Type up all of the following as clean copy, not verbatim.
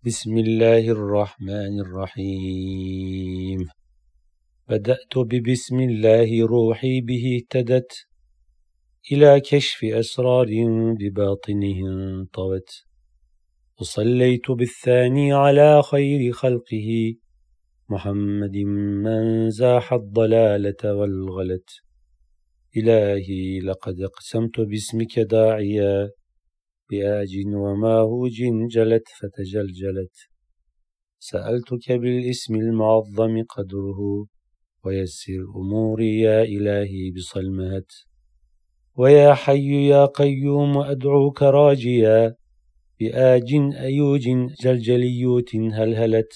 بسم الله الرحمن الرحيم. بدأت ببسم الله روحي به اهتدت إلى كشف أسرار بباطنه انطوت. وصليت بالثاني على خير خلقه محمد من زاح الضلالة والغلت. إلهي لقد أقسمت باسمك داعيا بآج وماهوج جلت فتجلجلت. سألتك بالاسم المعظم قدره ويسر أموري يا إلهي بصلمهت. ويا حي يا قيوم أدعوك راجيا بآج أيوج جلجليوت هلهلت.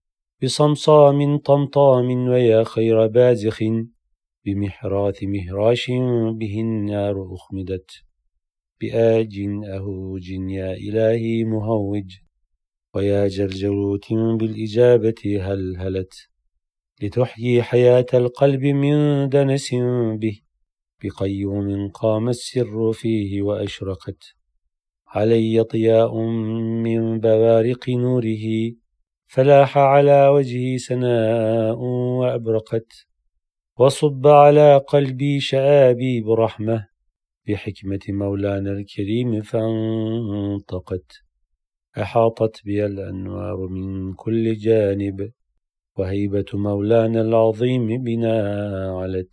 بصمصام طمطام ويا خير بازخ بمحراث مهراش به النار أخمدت. بآج أهوج يا إلهي مهوج ويا جرجروت بالإجابة هلهلت. لتحيي حياة القلب من دنس به بقيوم قام السر فيه وأشرقت. علي ضياء من بوارق نوره فلاح على وجهي سناء وأبرقت. وصب على قلبي شآبي برحمة بحكمة مولانا الكريم فانطقت. أحاطت بي الأنوار من كل جانب وهيبة مولانا العظيم بنا علت.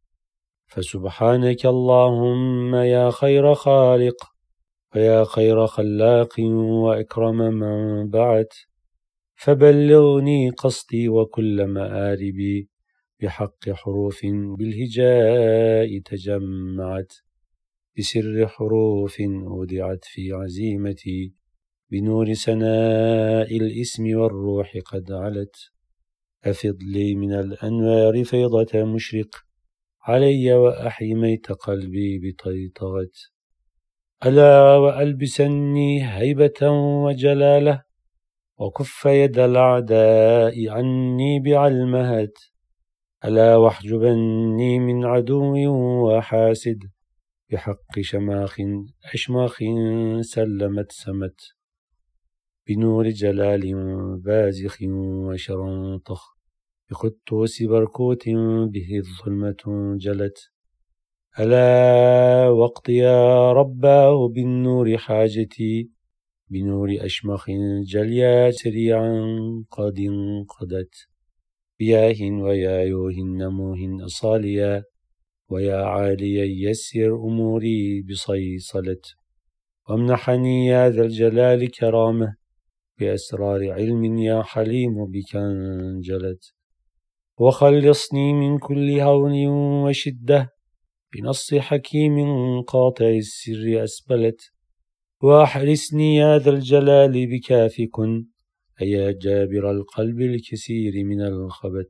فسبحانك اللهم يا خير خالق ويا خير خلاق وأكرم من بعت. فبلغني قصدي وكل مآربي بحق حروف بالهجاء تجمعت. بسر حروف أودعت في عزيمتي بنور سناء الاسم والروح قد علت. أفض لي من الأنوار فيضة مشرق علي وأحي ميت قلبي بطيطغت. ألا وألبسني هيبة وجلالة وكف يد الأعداء عني بعلمهت. ألا واحجبني من عدو وحاسد بحق شماخ أشماخ سلمت سمت. بنور جلال بازخ وشرنطخ بقدوس بركوت به الظلمة جلت. ألا واقض يا رباه بالنور حاجتي بنور أشمخ جليا سريعا قد انقضت. بياه ويا يوه نموه أصاليا ويا عاليا يسر أموري بصيصلت. وامنحني يا ذا الجلال كرامة بأسرار علم يا حليم بك انجلت. وخلصني من كل هون وشدة بنص حكيم قاطع السر أسبلت. وأحرسني يا ذا الجلال بكاف كن أيا جابر القلب الكثير من الخبت.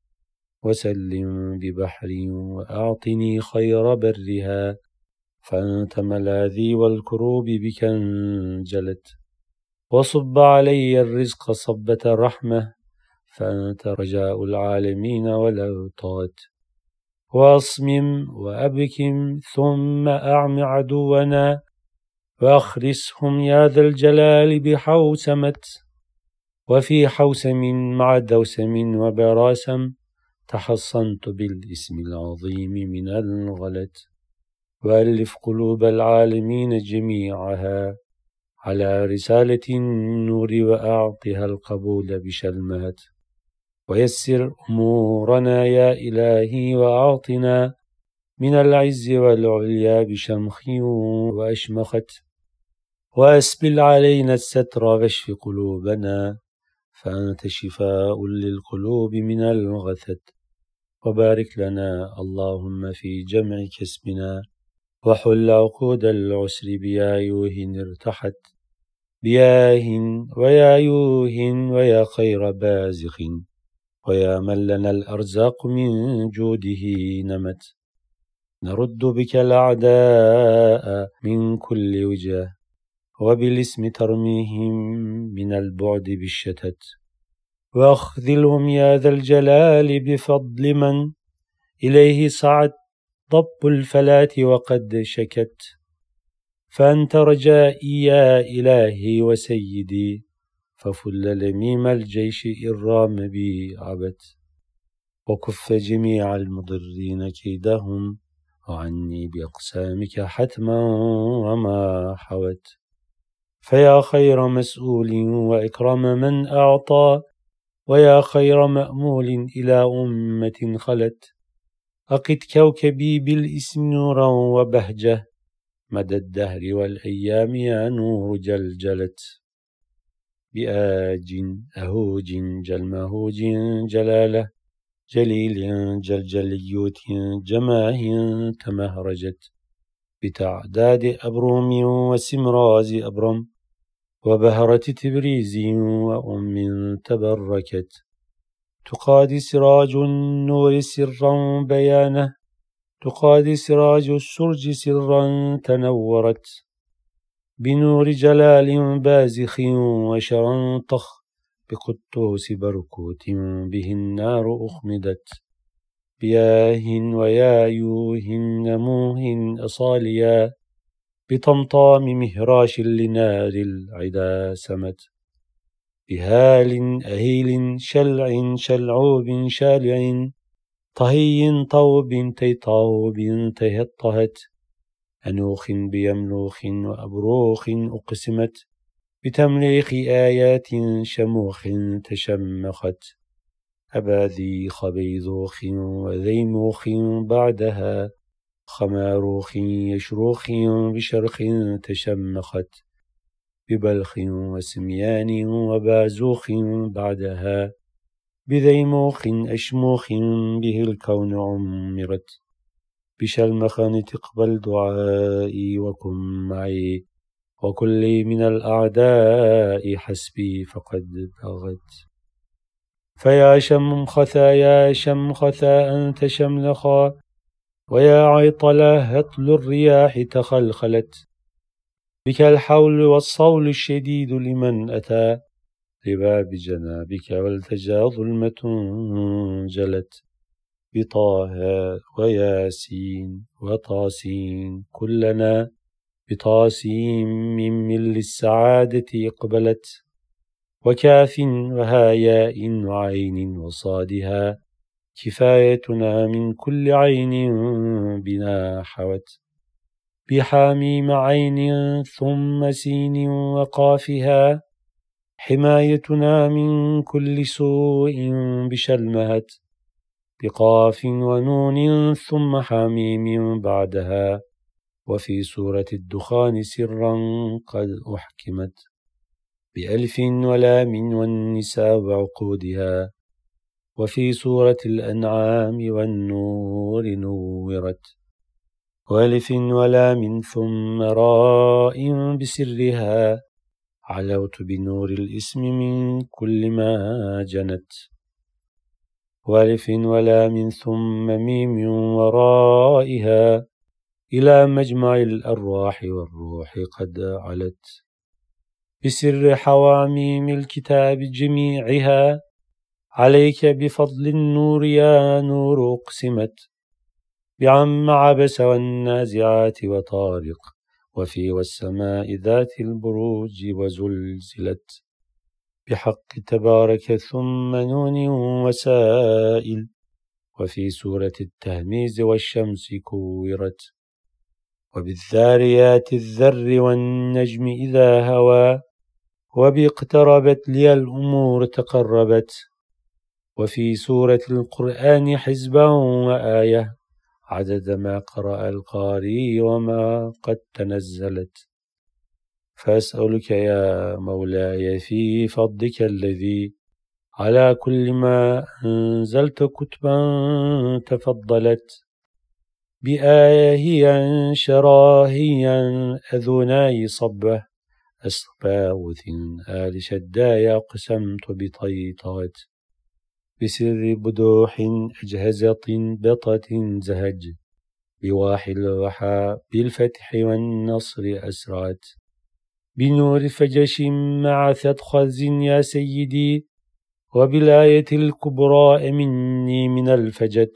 وسلم ببحري وأعطني خير برها فأنت ملاذي والكروب بك انجلت. وصب علي الرزق صبة رحمة فأنت رجاء العالمين والأوطات. وأصمم وأبكم ثم أعم عدونا وأخرسهم يا ذا الجلال بحوسمت. وفي حوسم مع دوسم وبراسم تحصنت بالاسم العظيم من الغلت. وألف قلوب العالمين جميعها على رسالة النور وأعطها القبول بشلمات. ويسر أمورنا يا إلهي وأعطنا من العز والعليا بشمخ وأشمخت. وأسبل علينا الستر واشف قلوبنا فأنت شفاء للقلوب من الغثت. وبارك لنا اللهم في جمع كسبنا وحل عقود العسر بيايوه ارتحت. بياه ويا يوه ويا خير بازخ ويا من لنا الأرزاق من جوده نمت. نرد بك الأعداء من كل وجه وبالاسم ترميهم من البعد بالشتت. وأخذلهم يا ذا الجلال بفضل من إليه صعد ضب الفلاة وقد شكت. فأنت رجائي يا إلهي وسيدي ففل لميم الجيش إن رام بي عبت وكف جميع المضرين كيدهم وعني بأقسامك حتما وما حوت فيا خير مسؤول وإكرم من أعطى ويا خير مأمول إلى أمة خلت أقد كوكبي بالإسم نورا وبهجة مدى الدهر والأيام يا نور جلجلت بآج أهوج جلمهوج جلالة جليل جلجليوت جماه تمهرجت بتعداد أبروم وسمراز أبرم وبهرة تبريز وأم تبركت تقادي سراج النور سرا بيانه تقادي سراج السرج سرا تنورت بنور جلال بازخ وشرنطخ بقدوس بركوت به النار أخمدت بياه ويايوه نموه أصاليا بطمطام مهراش لنار العدا سمت بهال أهيل شلع شلعوب شالع طهي طوب تيطاوب تهطهت أنوخ بيملوخ وأبروخ أقسمت بتمليخ آيات شموخ تشمخت أباذيخ بيذوخ وذيموخ بعدها خماروخ يشروخ بشرخ تشمخت ببلخ وسميان وبازوخ بعدها بذيموخ أشموخ به الكون عمرت بشلمخان تقبل دعائي وكن معي وكل من الأعداء حسبي فقد بغت فيا شمخثا يا شمخثا أنت شملخا ويا عيطلا هطل الرياح تخلخلت بك الحول والصول الشديد لمن أتى لباب جنابك والتجا ظلمة جلت بطه وياسين وطاسين كلنا بطاسين من للسعادة اقبلت وكاف وهاياء وعين وصادها كفايتنا من كل عين بنا حوت بحاميم عين ثم سين وقافها حمايتنا من كل سوء بشلمهت بقاف ونون ثم حميم بعدها وفي سورة الدخان سرا قد أحكمت بألف ولام والنساء وعقودها وفي سورة الأنعام والنور نورت وألف ولام ثم راء بسرها علوت بنور الاسم من كل ما جنت وألف ولام ثم ميم ورائها إلى مجمع الأرواح والروح قد علت بسر حواميم الكتاب جميعها عليك بفضل النور يا نور أقسمت بعم عبس والنازعات وطارق وفي والسماء ذات البروج وزلزلت بحق تبارك ثم نون وسائل وفي سورة التهميز والشمس كورت وبالذاريات الذر والنجم إذا هوى وباقتربت لي الأمور تقربت وفي سورة القرآن حزبا وآية عدد ما قرأ القارئ وما قد تنزلت فأسألك يا مولاي في فضلك الذي على كل ما أنزلت كتبا تفضلت بآيهيا شراهيا أذناي صبه أصباوث آل شدايا قسمت بطيطات بسر بدوح أجهزة بطة زهج بواحد الوحى بالفتح والنصر أسرات بنور فجش مع ثدخز يا سيدي وبالآية الكبرى مني من الفجت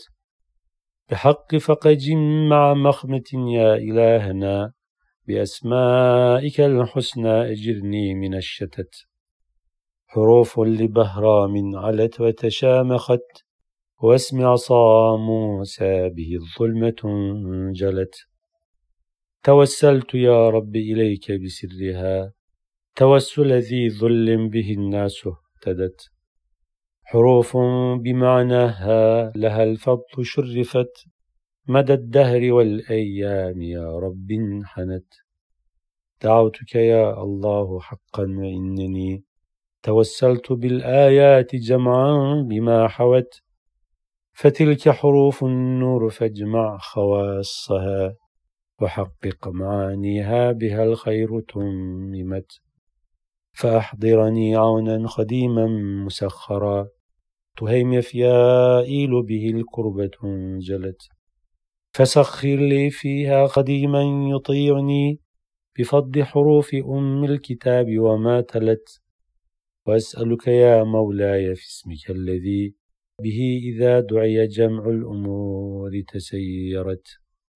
بحق فقج مع مخمة يا إلهنا بأسمائك الحسنى أجرني من الشتت حروف لبهرام علت وتشامخت واسم عصا موسى به الظلمة انجلت توسلت يا رب إليك بسرها توسل ذي ظل به الناس اهتدت حروف بمعناها لها الفضل شرفت مدى الدهر والأيام يا رب انحنت دعوتك يا الله حقا وإنني توسلت بالآيات جمعا بما حوت فتلك حروف النور فاجمع خواصها وحقق معانيها بها الخير تممت فأحضرني عونا خديما مسخرا تهيم يفيائيل به الكربة انجلت فسخر لي فيها خديما يطيعني بفض حروف أم الكتاب وما تلت وأسألك يا مولاي في اسمك الذي به إذا دعي جمع الأمور تسيرت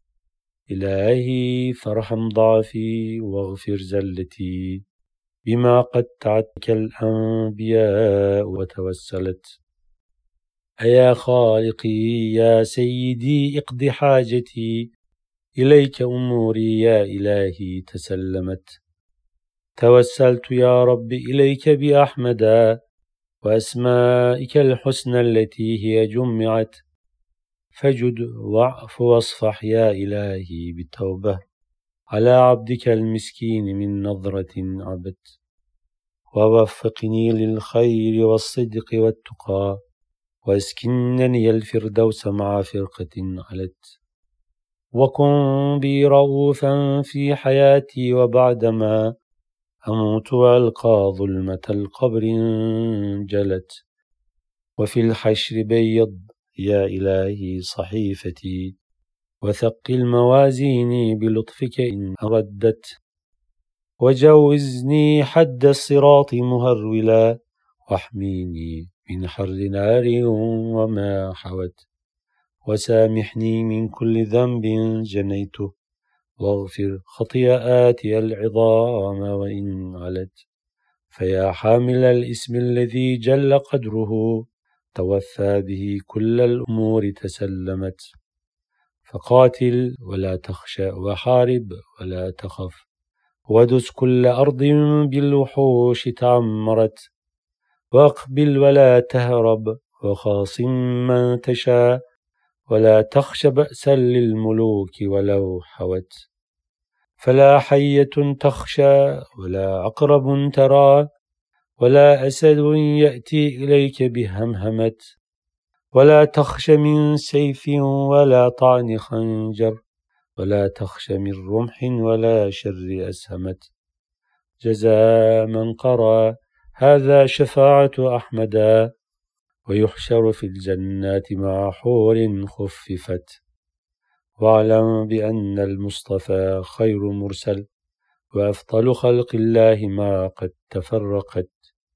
إلهي فارحم ضعفي واغفر زلتي بما قد تعتك الأنبياء وتوسلت أيا خالقي يا سيدي اقض حاجتي إليك أموري يا إلهي تسلمت توسلت يا رب إليك بأحمد وأسمائك الحسنى التي هي جمعت فجد واعف واصفح يا إلهي بالتوبة على عبدك المسكين من نظرة عبت ووفقني للخير والصدق والتقى واسكنني الفردوس مع فرقة علت وكن بي رؤوفا في حياتي وبعدما أموت وألقى ظلمة القبر انجلت وفي الحشر بيض يا إلهي صحيفتي وثقل موازيني بلطفك إن أردت وجوزني حد الصراط مهرولا واحميني من حر نار وما حوت وسامحني من كل ذنب جنيته واغفر خطيئاتي العظام وإن علت فيا حامل الاسم الذي جل قدره توفى به كل الأمور تسلمت فقاتل ولا تخشى وحارب ولا تخف ودس كل أرض بالوحوش تعمرت واقبل ولا تهرب وخاصم من تشاء ولا تخش بأسا للملوك ولو حوت فلا حية تخشى ولا عقرب ترى ولا أسد يأتي إليك بهمهمة ولا تخش من سيف ولا طعن خنجر ولا تخش من رمح ولا شر أسهمت جزاء من قرأ هذا شفاعة أحمدا ويحشر في الجنات مع حور خففت واعلم بأن المصطفى خير مرسل وأفضل خلق الله ما قد تفرقت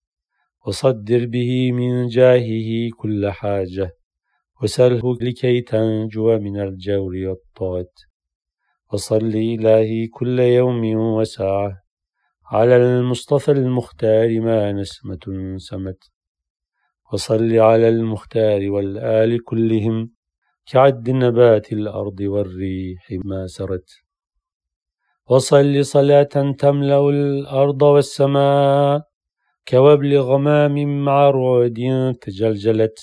وصدر به من جاهه كل حاجة وسله لكي تنجو من الجور والطغت وصل إلهي كل يوم وساعة على المصطفى المختار ما نسمة سمت وصل على المختار والآل كلهم كعد نبات الأرض والريح ما سرت وصل صلاة تملأ الأرض والسماء كوابل غمام مع رعد تجلجلت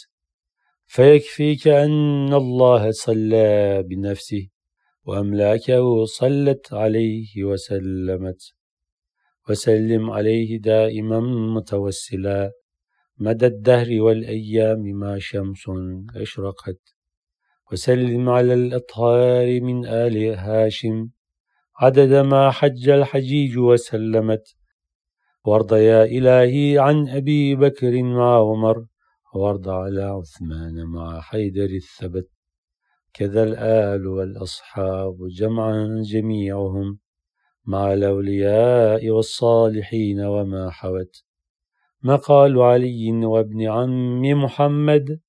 فيكفيك أن الله صلى بنفسه وأملاكه صلت عليه وسلمت وسلم عليه دائما متوسلا مدى الدهر والأيام ما شمس أشرقت وسلم على الأطهار من آل هاشم عدد ما حج الحجيج وسلمت وارض يا إلهي عن أبي بكر مع عمر وارض على عثمان مع حيدر الثبت كذا الآل والأصحاب جمعا جميعهم مع الأولياء والصالحين وما حوت مقال علي وابن عم محمد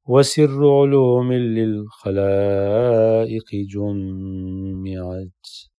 وسر علوم للخلائق جمعت